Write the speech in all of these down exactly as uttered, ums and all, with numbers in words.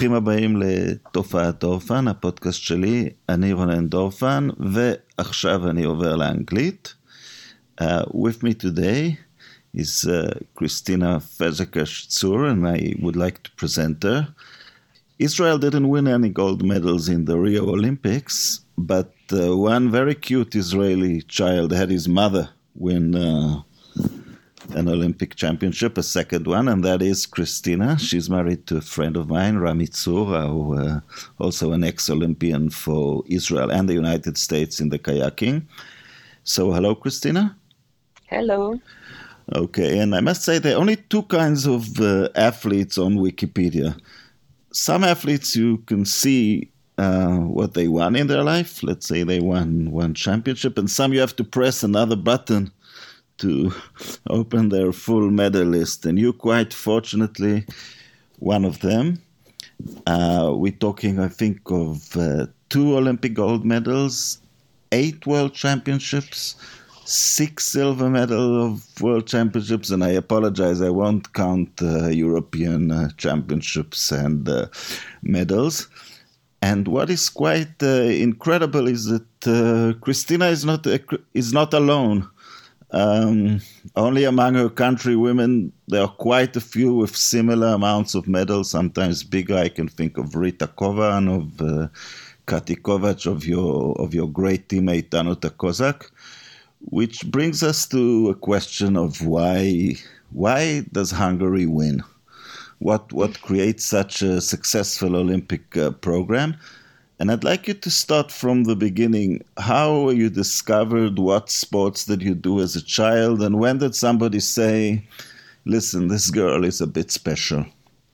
ברוכים הבאים לתופעת דורפן, הפודקאסט שלי, אני רונן דורפן, ועכשיו אני עובר לאנגלית. Uh, with me today is uh, Christina Fazekas-Tzur, and I would like to present her. Israel didn't win any gold medals in the Rio Olympics, but uh, one very cute Israeli child had his mother win uh, an Olympic championship, a second one, and that is Christina. She's married to a friend of mine, Rami Tzur, who, uh, also an ex-Olympian for Israel and the United States in the kayaking. So, hello, Christina. Hello. Okay, and I must say there are only two kinds of uh, athletes on Wikipedia. Some athletes you can see uh, what they won in their life. Let's say they won one championship, and some you have to press another button to open their full medal list. And you quite fortunately one of them. Uh, we're talking, I think, of uh, two Olympic gold medals, eight world championships, six silver medal of world championships, and I apologize, I won't count uh, European uh, championships and uh, medals. And what is quite uh, incredible is that uh, Christina is not a, is not alone. Um, only among her country women, there are quite a few with similar amounts of medals, sometimes bigger. I can think of Rita Kovan, of uh, Kati Kovac, of your of your great teammate Danuta Kozak. Which brings us to a question of why why does Hungary win? What what creates such a successful Olympic uh, program? And I'd like you to start from the beginning. How you discovered, what sports did you do as a child, and when did somebody say, listen, this girl is a bit special?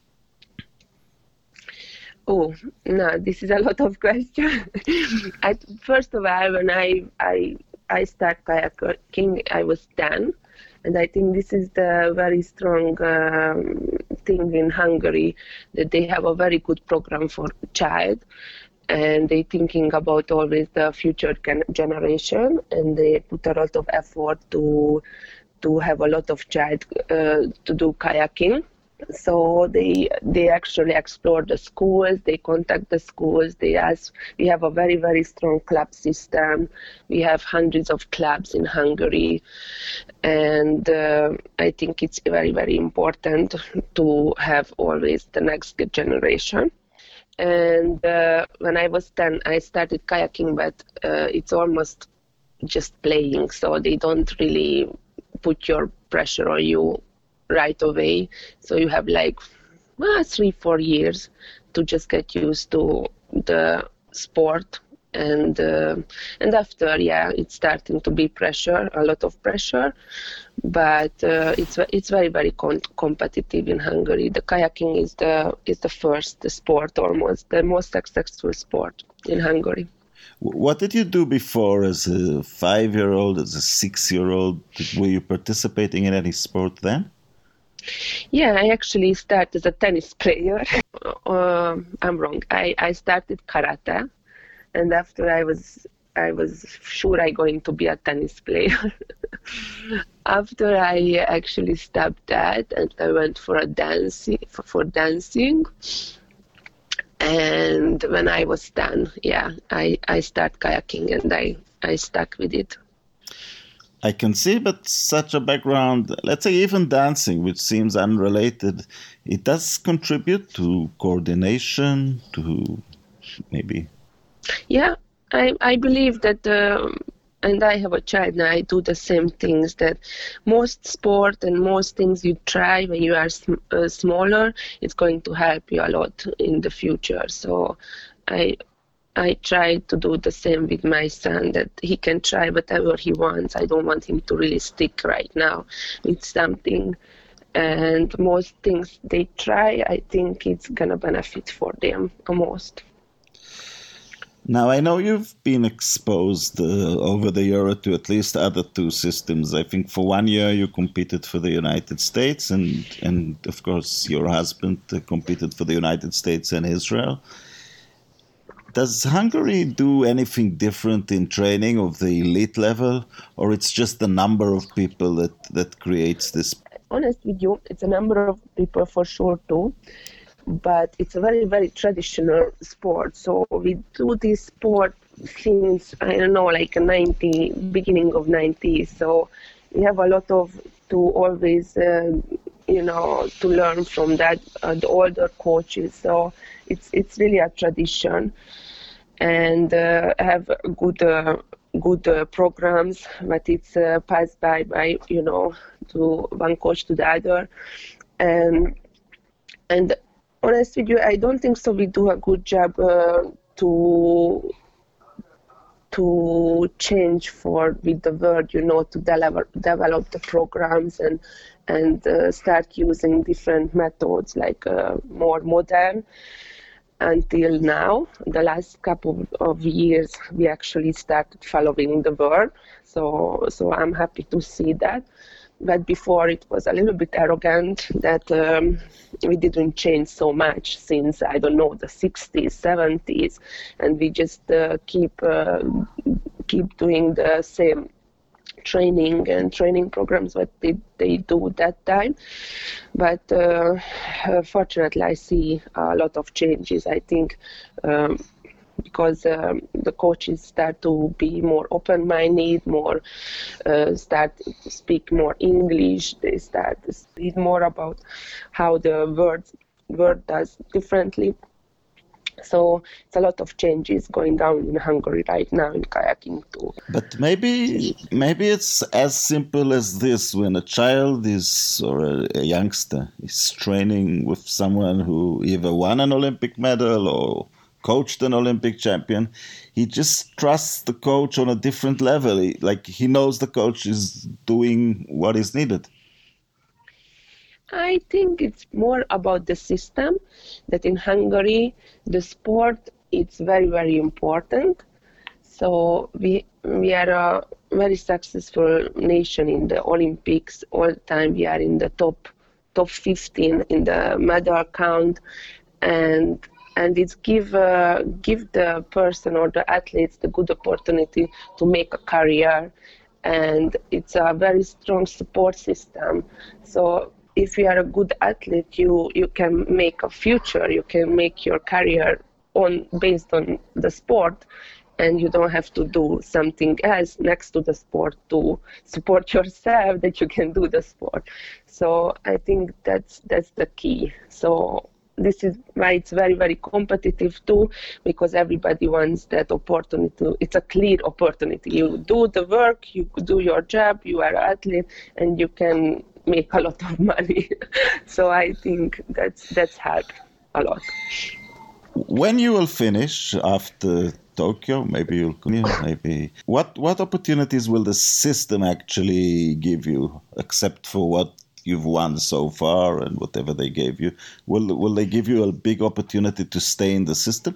Oh, no, this is a lot of questions. I, first of all, when I, I I started kayaking, I was ten, and I think this is the very strong um, thing in Hungary, that they have a very good program for child, and they thinking about always the future generation, and they put a lot of effort to to have a lot of child uh, to do kayaking. So they they actually explore the schools, they contact the schools, they ask. We have a very, very strong club system. We have hundreds of clubs in Hungary. And uh, I think it's very, very important to have always the next generation. And uh, when I was ten, I started kayaking, but uh, it's almost just playing. So they don't really put your pressure on you right away. So you have like well, three, four years to just get used to the sport. And uh, and after, yeah, it's starting to be pressure, a lot of pressure. But uh, it's it's very, very con- competitive in Hungary. The kayaking is the is the first sport, almost the most successful sport in Hungary. What did you do before as a five-year-old, as a six-year-old? Were you participating in any sport then? Yeah, I actually started as a tennis player. uh, I'm wrong. I, I started karate, and after I was I was sure I'm going to be a tennis player. After I actually stopped that, and I went for a dancing for, for dancing. And when I was ten, yeah, I, I started kayaking, and I, I stuck with it. I can see, but such a background, let's say even dancing, which seems unrelated, it does contribute to coordination, to maybe... Yeah, I, I believe that, um, and I have a child now, I do the same things, that most sport and most things you try when you are sm- uh, smaller, it's going to help you a lot in the future. So I... I try to do the same with my son, that he can try whatever he wants. I don't want him to really stick right now with something. And most things they try, I think it's going to benefit for them the most. Now, I know you've been exposed uh, over the year to at least other two systems. I think for one year you competed for the United States, and, and of course your husband uh, competed for the United States and Israel. Does Hungary do anything different in training of the elite level, or it's just the number of people that, that creates this? Honest with you, it's a number of people for sure too. but it's a very, very traditional sport. So we do this sport since, I don't know, like a ninety, beginning of nineties. So we have a lot of to always, uh, you know, to learn from that, uh, the older coaches. So it's it's really a tradition, and uh, have good uh, good uh, programs, but it's uh, passed by by you know to one coach to the other, and and honest with you, I don't think so. We do a good job uh, to to change for with the word, you know, to develop develop the programs and and uh, start using different methods, like uh, more modern. Until now, the last couple of years, we actually started following the word. So so I'm happy to see that. But before it was a little bit arrogant that um, we didn't change so much since, I don't know, the sixties, seventies, and we just uh, keep uh, keep doing the same training and training programs what they, they do that time. But uh, fortunately, I see a lot of changes, I think, um, because um, the coaches start to be more open-minded, more uh, start to speak more English. They start to read more about how the word word does differently. So it's a lot of changes going on in Hungary right now in kayaking too. But maybe maybe it's as simple as this: when a child is or a, a youngster is training with someone who either won an Olympic medal or coached an Olympic champion, he just trusts the coach on a different level. He, like he knows the coach is doing what is needed. I think it's more about the system, that in Hungary, the sport is very, very important. So we we are a very successful nation in the Olympics. All the time we are in the top top fifteen in the medal count, and and it's give uh, give the person or the athletes the good opportunity to make a career, and it's a very strong support system. So if you are a good athlete, you you can make a future, you can make your career on based on the sport, and you don't have to do something else next to the sport to support yourself that you can do the sport. So I think that's that's the key. So this is why it's very, very competitive too, because everybody wants that opportunity. It's a clear opportunity. You do the work, you do your job, you are an athlete, and you can make a lot of money. So I think that's that's helped a lot. When you will finish after Tokyo, maybe you'll continue, maybe what what opportunities will the system actually give you, except for what you've won so far and whatever they gave you? Will will they give you a big opportunity to stay in the system?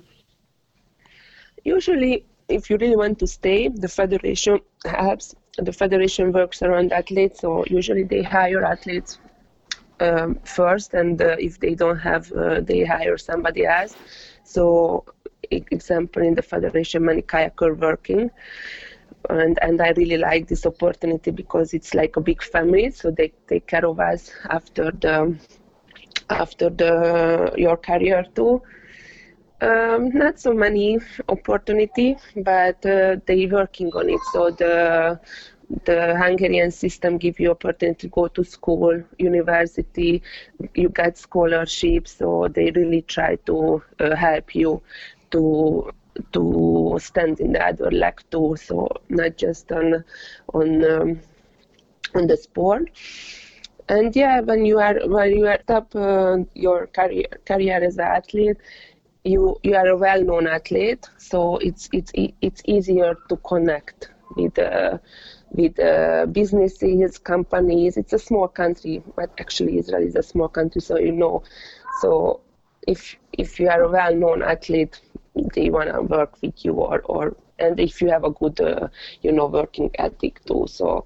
Usually, if you really want to stay, the federation helps. The federation works around athletes, so usually they hire athletes um, first, and uh, if they don't have, uh, they hire somebody else. So, example, in the federation, many kayakers working. And and I really like this opportunity because it's like a big family, so they take care of us after the after the your career too. Um, not so many opportunity, but uh, they working on it. So the the Hungarian system give you opportunity to go to school, university. You get scholarships, so they really try to uh, help you to. to stand in the other leg too, so not just on on um, on the sport. And yeah, when you are when you are top uh, your career career as an athlete, you you are a well-known athlete, so it's it's it's easier to connect with uh, with uh, businesses, companies. It's a small country, but actually Israel is a small country, so you know. So if if you are a well-known athlete, they want to work with you, or, or and if you have a good, uh, you know, working ethic too. So,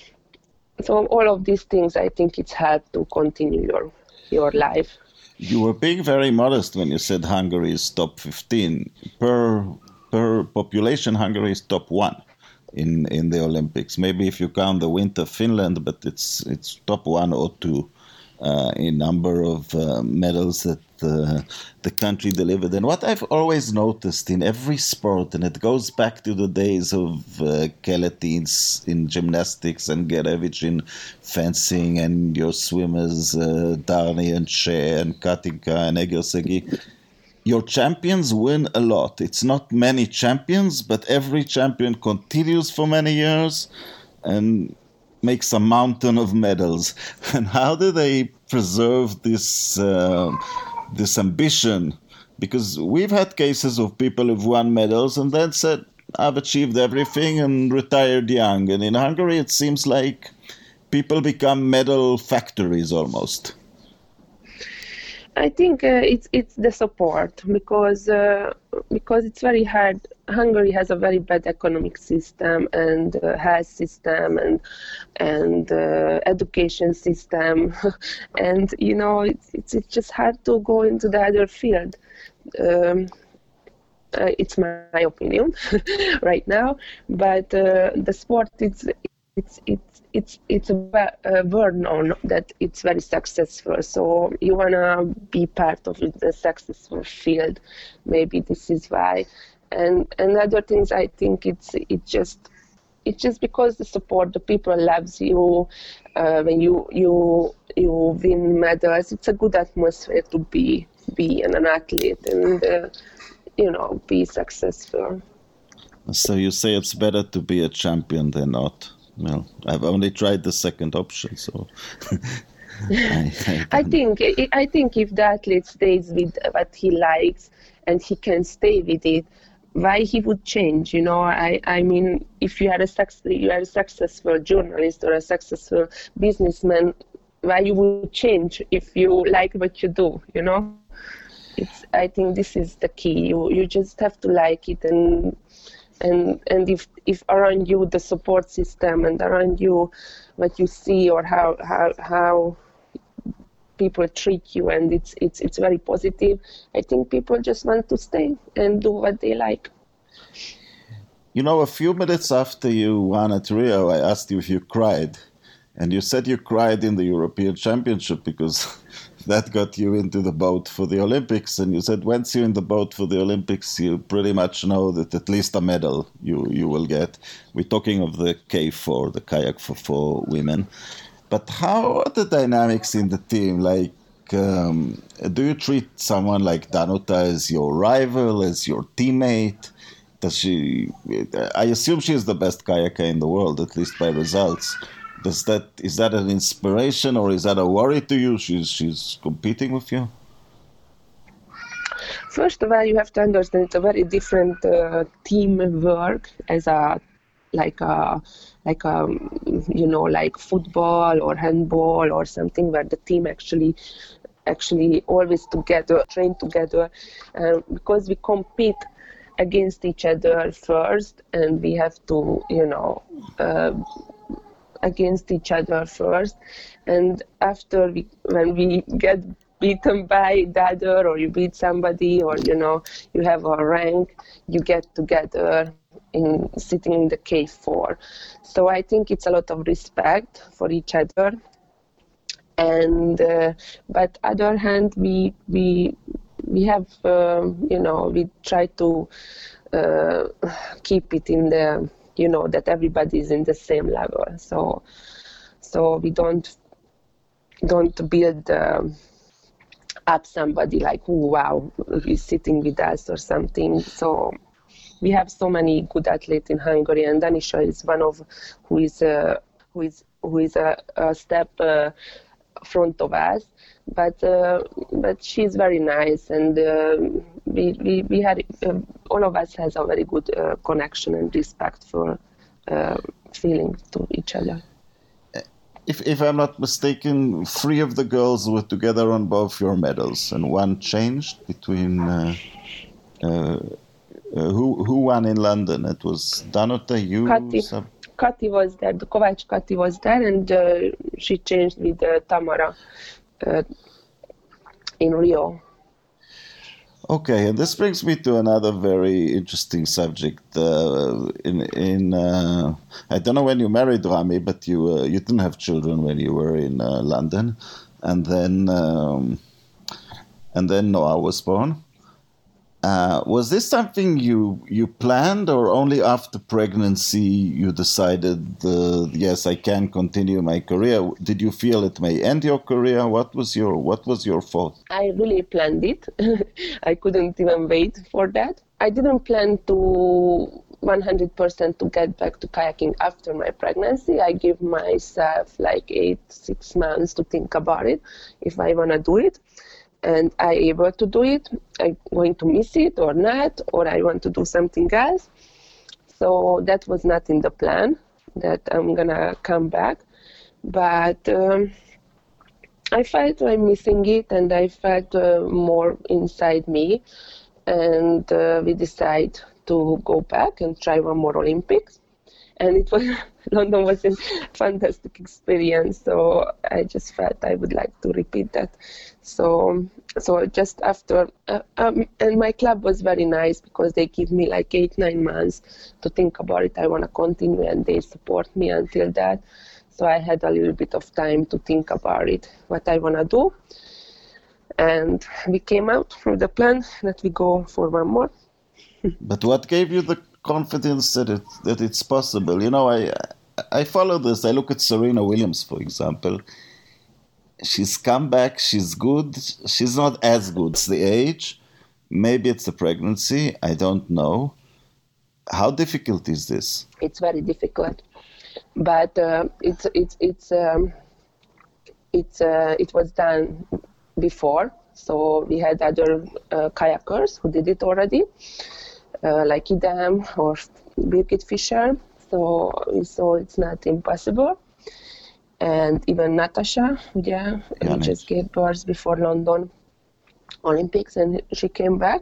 so all of these things, I think it's helped to continue your your life. You were being very modest when you said Hungary is top fifteen. Per per population, Hungary is top one in, in the Olympics. Maybe if you count the winter, Finland, but it's it's top one or two uh, in number of uh, medals that uh, the country delivered. And what I've always noticed in every sport, and it goes back to the days of uh, Keletins in gymnastics and Gerevich in fencing, and your swimmers, uh, Darni and Shea and Katinka and Egersegi, your champions win a lot. It's not many champions, but every champion continues for many years and makes a mountain of medals. And how do they preserve this uh, this ambition? Because we've had cases of people who've won medals and then said, I've achieved everything and retired young. And in Hungary, it seems like people become medal factories almost. I think uh, it's it's the support, because uh, because it's very hard. Hungary has a very bad economic system and uh, health system and and uh, education system, and you know it's, it's it's just hard to go into the other field. Um, uh, it's my opinion right now, but uh, the sport it's it's it's it's it's a, a word known that it's very successful. So you wanna be part of the successful field. Maybe this is why, and and other things. I think it's it just it's just because the support, the people loves you uh, when you you you win medals. It's a good atmosphere to be be an athlete and uh, you know be successful. So you say it's better to be a champion than not. Well, I've only tried the second option, so I, I, I think I think if the athlete stays with what he likes and he can stay with it, why he would change? You know, I, I mean, if you are a you are a successful journalist or a successful businessman, why you would change if you like what you do? You know, it's. I think this is the key. You you just have to like it and. And and if, if around you the support system and around you what you see or how how, how people treat you and it's it's it's very positive, I think people just want to stay and do what they like. You know, a few minutes after you won at Rio, I asked you if you cried, and you said you cried in the European Championship because that got you into the boat for the Olympics. And you said once you're in the boat for the Olympics, you pretty much know that at least a medal you, you will get. We're talking of the K four, the kayak for four women. But how are the dynamics in the team? Like, um, do you treat someone like Danuta as your rival, as your teammate? Does she? I assume she is the best kayaker in the world, at least by results. Does that is that an inspiration or is that a worry to you? She's she's competing with you. First of all, you have to understand it's a very different uh, teamwork as a like a like a you know like football or handball or something where the team actually actually always together train together uh, because we compete against each other first and we have to you know. Uh, against each other first, and after we, when we get beaten by the other or you beat somebody or you know you have a rank, you get together in sitting in the K four. So I think it's a lot of respect for each other, and uh, but other hand we we we have uh, you know we try to uh, keep it in the you know that everybody is in the same level, so so we don't don't build uh, up somebody like, oh wow, he's sitting with us or something. So we have so many good athletes in Hungary, and Danisha is one of who is uh, who is who is a, a step uh, front of us, but uh, but she's very nice, and uh, we, we we had uh, all of us has a very good uh, connection and respect for uh, feeling to each other. If if I'm not mistaken, three of the girls were together on both your medals, and one changed between. Uh, uh, uh, who who won in London? It was Danuta, you. Kati. Sub- Kati was there, the Kovács Kati was there, and uh, she changed with uh, Tamara uh, in Rio. Okay, and this brings me to another very interesting subject. Uh, in in uh, I don't know when you married Rami, but you uh, you didn't have children when you were in uh, London, and then um, and then Noah was born. Uh, was this something you you planned, or only after pregnancy you decided, uh, yes, I can continue my career? Did you feel it may end your career? What was your what was your thought? I really planned it. I couldn't even wait for that. I didn't plan to one hundred percent to get back to kayaking after my pregnancy. I gave myself like eight, six months to think about it, if I want to do it. And I able to do it, I'm going to miss it or not, or I want to do something else. So that was not in the plan, that I'm gonna come back. But um, I felt I'm missing it, and I felt uh, more inside me. And uh, we decided to go back and try one more Olympics. And it was London was a fantastic experience, so I just felt I would like to repeat that. So, so just after, uh, um, and my club was very nice because they give me like eight, nine months to think about it. I want to continue, and they support me until that. So I had a little bit of time to think about it, what I want to do. And we came out with the plan that we go for one more. But what gave you the confidence that it that it's possible? You know, I I follow this. I look at Serena Williams, for example. She's come back. She's good. She's not as good. It's the age. Maybe it's the pregnancy. I don't know. How difficult is this? It's very difficult, but uh, it's it's it's um, it's uh, it was done before. So we had other uh, kayakers who did it already. Uh, like Idam or Birgit Fischer, so so it's not impossible. And even Natasha, yeah, who just gave birth before London Olympics, and she came back.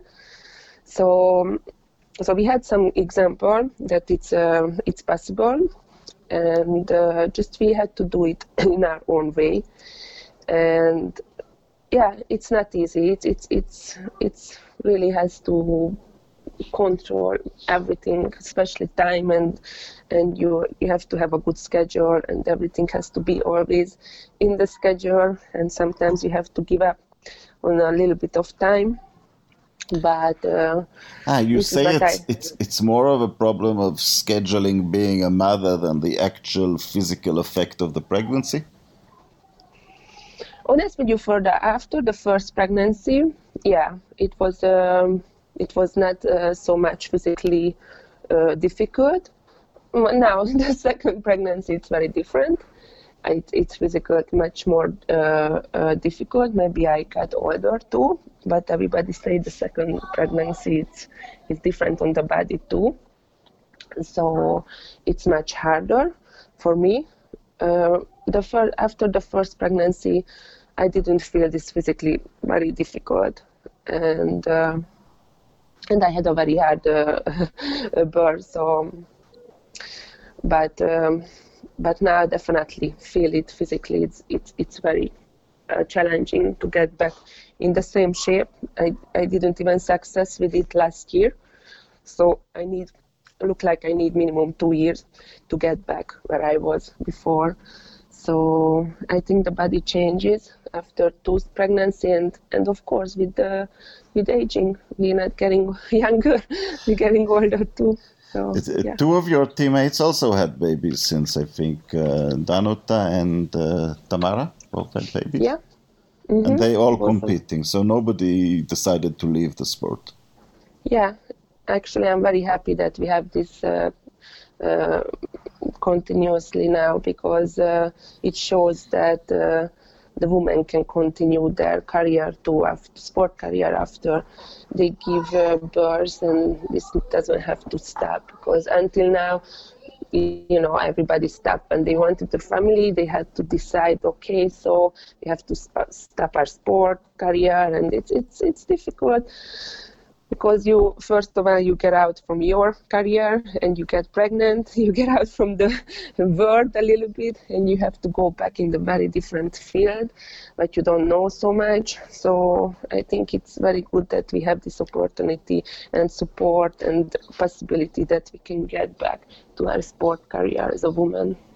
So so we had some example that it's uh, it's possible, and uh, just we had to do it in our own way. And yeah, it's not easy. It's it's it's it's really has to control everything, especially time, and and you you have to have a good schedule, and everything has to be always in the schedule, and sometimes you have to give up on a little bit of time. But uh, ah, you say it's I, it's it's more of a problem of scheduling being a mother than the actual physical effect of the pregnancy? Honest with you, for the after the first pregnancy, yeah, it was um, it was not uh, so much physically uh, difficult. Now the second pregnancy, it's very different. It, it's physically much more uh, uh, difficult. Maybe I got older too, but everybody say the second pregnancy it's is different on the body too. So it's much harder for me. Uh, the fir- after the first pregnancy, I didn't feel this physically very difficult, and uh, and I had a very hard uh, birth. So, but um, but now I definitely feel it physically. It's it's it's very uh, challenging to get back in the same shape. I I didn't even success with it last year, so I need look like I need minimum two years to get back where I was before. So I think the body changes after two pregnancy, and, and of course with the with aging, we're not getting younger, we're getting older too. So, yeah. Two of your teammates also had babies since, I think, uh, Danuta and uh, Tamara both had babies. Yeah. Mm-hmm. And they all both competing, so nobody decided to leave the sport. Yeah, actually I'm very happy that we have this uh, uh, continuously now, because uh, it shows that uh, the women can continue their career too, after sport career, after they give uh, birth, and this doesn't have to stop, because until now, you know, everybody stopped and they wanted the family. They had to decide, okay, so we have to sp- stop our sport career, and it's it's it's difficult. Because you, first of all, you get out from your career and you get pregnant, you get out from the world a little bit, and you have to go back in the very different field, but you don't know so much. So I think it's very good that we have this opportunity and support and possibility that we can get back to our sport career as a woman.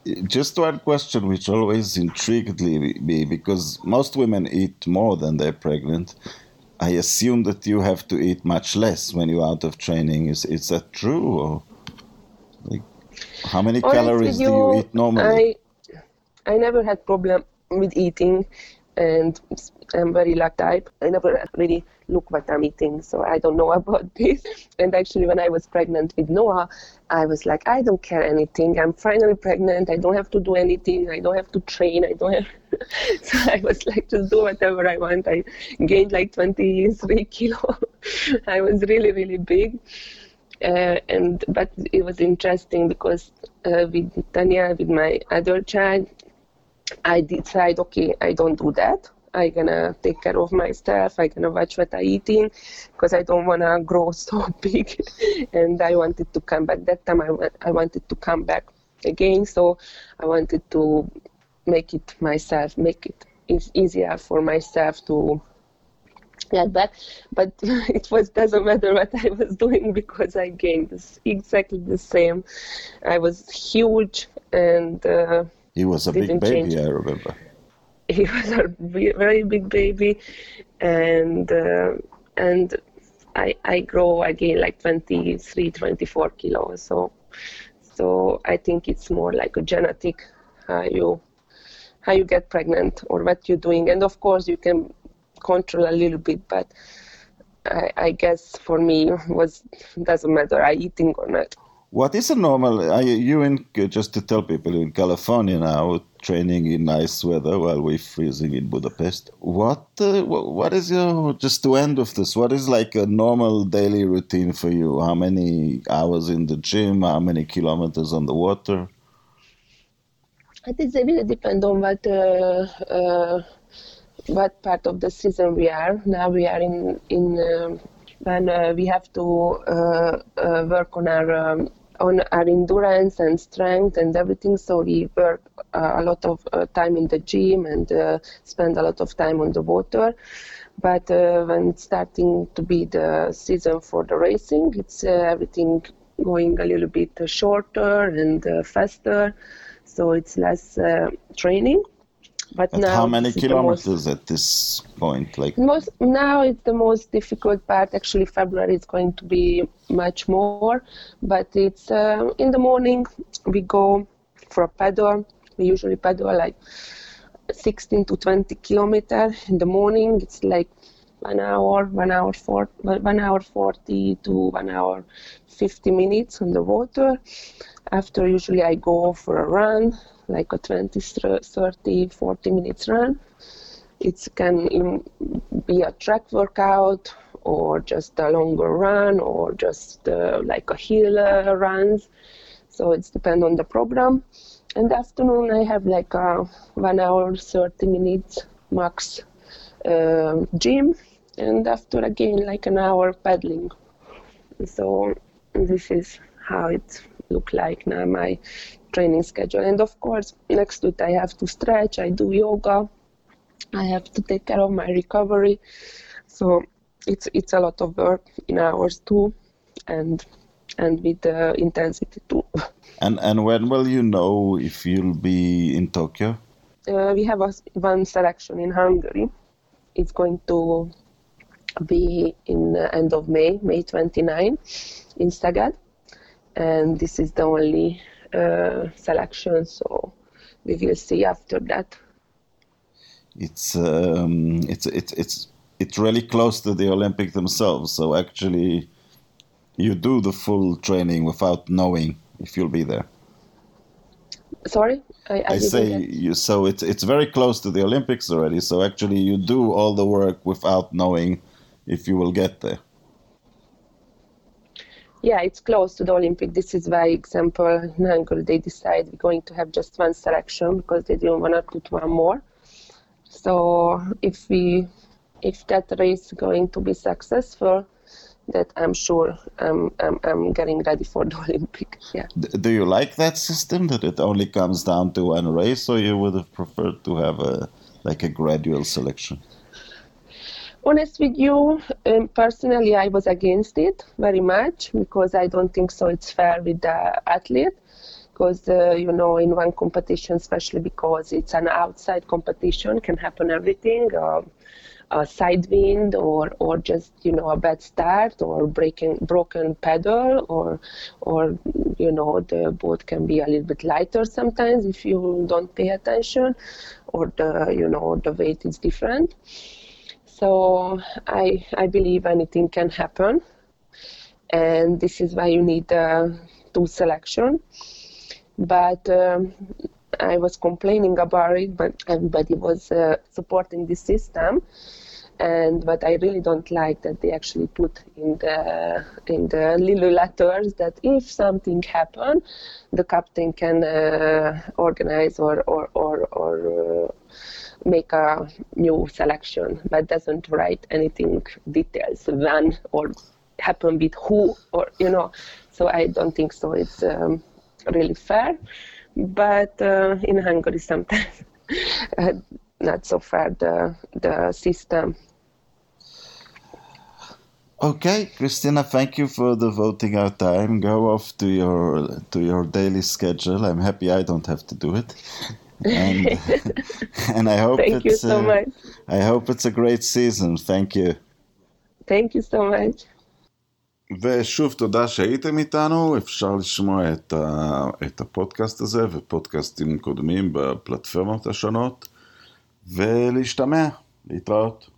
Just one question which always intrigued me, because most women eat more than they're pregnant. I assume that you have to eat much less when you're out of training. Is is that true? Or like, how many Honest calories with do you you, eat normally? I I never had problem with eating, and I'm very lucky type. I never really look what I'm eating, so I don't know about this. And actually, when I was pregnant with Noah, I was like, I don't care anything. I'm finally pregnant. I don't have to do anything. I don't have to train. I don't have. So I was like, just do whatever I want. I gained like twenty-three kilo. I was really, really big. Uh, and but it was interesting because uh, with Tanya, with my other child, I decide, okay, I don't do that. I'm gonna take care of myself. I'm gonna watch what I'm eating because I don't wanna grow so big. And I wanted to come back. That time I, I wanted to come back again. So I wanted to make it myself, make it e- easier for myself to get back. But it was doesn't matter what I was doing because I gained this, exactly the same. I was huge and uh, He was a big baby, change. I remember. He was a very big baby, and uh, and I I grow again like twenty-three, twenty-four kilos. So so I think it's more like a genetic how you how you get pregnant or what you're doing, and of course you can control a little bit, but I, I guess for me was doesn't matter I eating or not. What is a normal, are you in, just to tell people, in California now, training in nice weather while we're freezing in Budapest. What, uh, what is your, just to end with this, what is like a normal daily routine for you? How many hours in the gym? How many kilometers on the water? It is really depend on what, uh, uh, what part of the season we are. Now we are in, in uh, when uh, we have to uh, uh, work on our um, on our endurance and strength and everything. So we work uh, a lot of uh, time in the gym and uh, spend a lot of time on the water. But uh, when it's starting to be the season for the racing, it's uh, everything going a little bit shorter and uh, faster. So it's less uh, training. But at now how many kilometers most, at this point? Like most now, it's the most difficult part. Actually, February is going to be much more. But it's uh, in the morning we go for a paddle. We usually paddle like sixteen to twenty kilometers in the morning. It's like one hour, one hour for one hour forty to one hour fifty minutes on the water. After usually I go for a run, like a twenty, thirty, forty minutes run. It can be a track workout or just a longer run or just uh, like a hill uh, runs. So it depends on the program. In the afternoon I have like a one hour, thirty minutes max uh, gym. And after again like an hour paddling. So this is how it look like now my training schedule. And of course next to it I have to stretch, I do yoga, I have to take care of my recovery. So it's it's a lot of work in hours too, and and with the intensity too. And and when will you know if you'll be in Tokyo? Uh, we have a, one selection in Hungary. It's going to be in the end of May, May twenty-ninth in Szeged. And this is the only uh, selection, so we will see after that. It's um, it's it's it's it's really close to the Olympics themselves. So actually, you do the full training without knowing if you'll be there. Sorry, I, I, I say you. So it's it's very close to the Olympics already. So actually, you do all the work without knowing if you will get there. Yeah, it's close to the Olympic. This is why, example, in Hungary, they decide we're going to have just one selection because they didn't want to put one more. So if we, if that race is going to be successful, that I'm sure I'm, I'm, I'm getting ready for the Olympic. Yeah. Do you like that system, that it only comes down to one race, or you would have preferred to have a like a gradual selection? Honest with you, um, personally, I was against it very much because I don't think so it's fair with the athlete. because, uh, you know, in one competition, especially because it's an outside competition, can happen everything. Uh, a side wind or or just, you know, a bad start or breaking broken pedal or or you know, the boat can be a little bit lighter sometimes if you don't pay attention, or the, you know, the weight is different. So I I believe anything can happen, and this is why you need uh, tool selection. But um, I was complaining about it, but everybody was uh, supporting this system. And but I really don't like that they actually put in the in the little letters that if something happen, the captain can uh, organize or or or, or uh, make a new selection, but doesn't write anything details when or happen with who, or, you know. So I don't think so. It's um, really fair. But uh, in Hungary, sometimes uh, not so fair, the the system. Okay, Christina, thank you for devoting our time. Go off to your to your daily schedule. I'm happy I don't have to do it. And and I hope thank it's, you so uh, much. I hope it's a great season. Thank you. Thank you so much. ושוב, תודה שהייתם איתנו. אפשר לשמוע את, ה, את הפודקאסט הזה ופודקאסטים קודמים בפלטפורמות השונות, ולהשתמע, להתראות.